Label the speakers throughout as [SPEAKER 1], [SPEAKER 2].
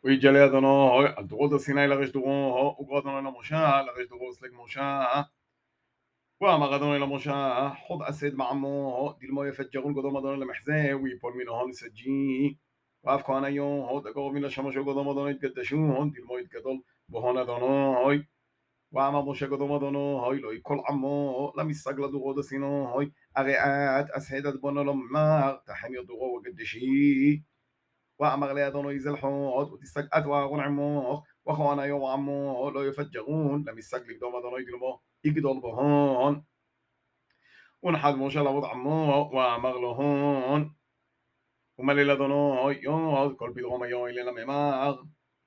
[SPEAKER 1] ויג'לי אדוני על דורות הסיני לרש דורו, וקרא אדוני למשה לרש דורו סלג משה. ואמר אדוני למשה, חוד אסד מעמו, דלמו יפג'רון קודם אדוני למחזה, ויפול מנהון סג'י. ואף כהניו, דקרוב מן השמש קודם אדוני יתקדשון, דלמו יתגדול בהון אדוני. ואמר משה קודם אדוני, לא יקול עמו, למסג לדורות הסיני, הרי את אסד עד בונו לומר, תחם ידורו וקדשי. ואמר לאדוני זלחוד, ותסגעת ואהרון עמו, וכהניו ועמו לא יפג'רון, למסג לקדום אדוני דלמו יגדול בהון. ונחד משה לעבוד עמו, ואמר לו הון, ומליל אדוני יוד, כל פדרום היום אלינה ממר.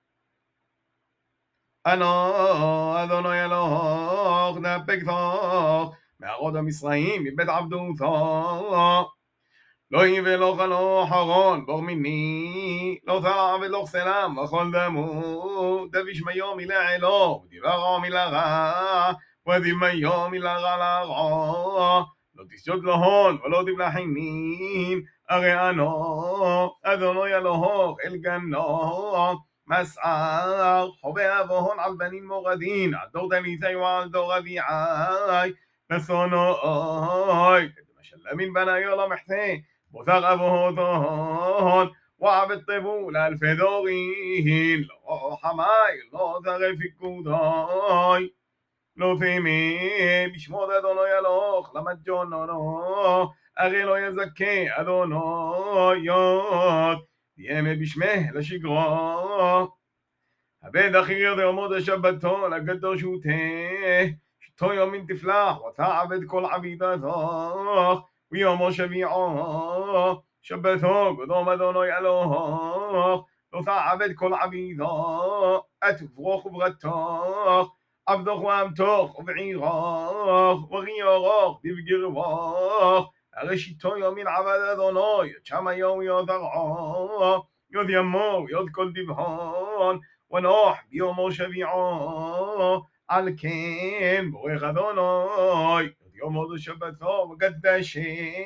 [SPEAKER 1] אנו אדוני אלוך, דפק תוך, מערוד המצרים, מבית עבדותו. לא יבא לו חלו חרון, בור מיני, לא תעבד לו סלם, וכל דמו, דביש מיום מילה אלו, ודברו מילה רע, ודמיום מילה רע לרע. לא תשוד לו הון, ולא תבלע חינים, הרי אנו, אדוני אלוהוך, אל גנו, מסער, חווה אבוהון על בנים מורדין, על דור דליתי ועל דור אביעי, נסונוי, כדי משלמין בניו למחתה, בוזר אבוהון, ועבד טבו לאלפי דורין, לא חמי, לא תרי פיקודוי, לא תימי, בשמות אדוני אלוך, למג'ונונו, הרי לא יזכה אדוני יוד, תהיה בשמה לשגרו. הבד אחי יודע עמוד השבתו לקדוש ותה, שתו יומין תפלח, ותעבד כל עבידתו, ויומו שביעו, שבתו קדום אדוני אלוך, לא תעבד כל עבידו, את ברוך וברתוך, עבדוך ואמתוך ובעירוך, וגיורוך דבגרבוך, הרי שיתו יומין עבד אדוני, את שם היום יוד ארעו, יוד ימו, יוד כל דבהון, ונוח ביומו שביעו, על כן בורך אדוני, יוד יומו דשבתו וקדשה.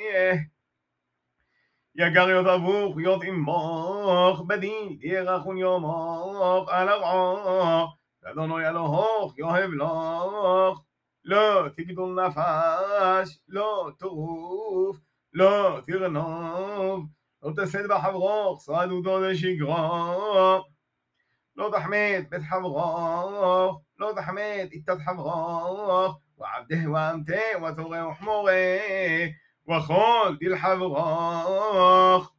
[SPEAKER 1] יגר יוד אבוך יוד אמוך, בדין ירחון יומוך על ארעו, ואדוני אלוהוך יאהב לך. לא תגדול נפש, לא טרוף, לא תרנוב, לא תסד בחברוך, סעדותו דשגרו. לא תחמד בית חברוך, לא תחמד איתת חברוך, ועבדה ואמתה ותורה וחמורה, וכל דיל חברוך.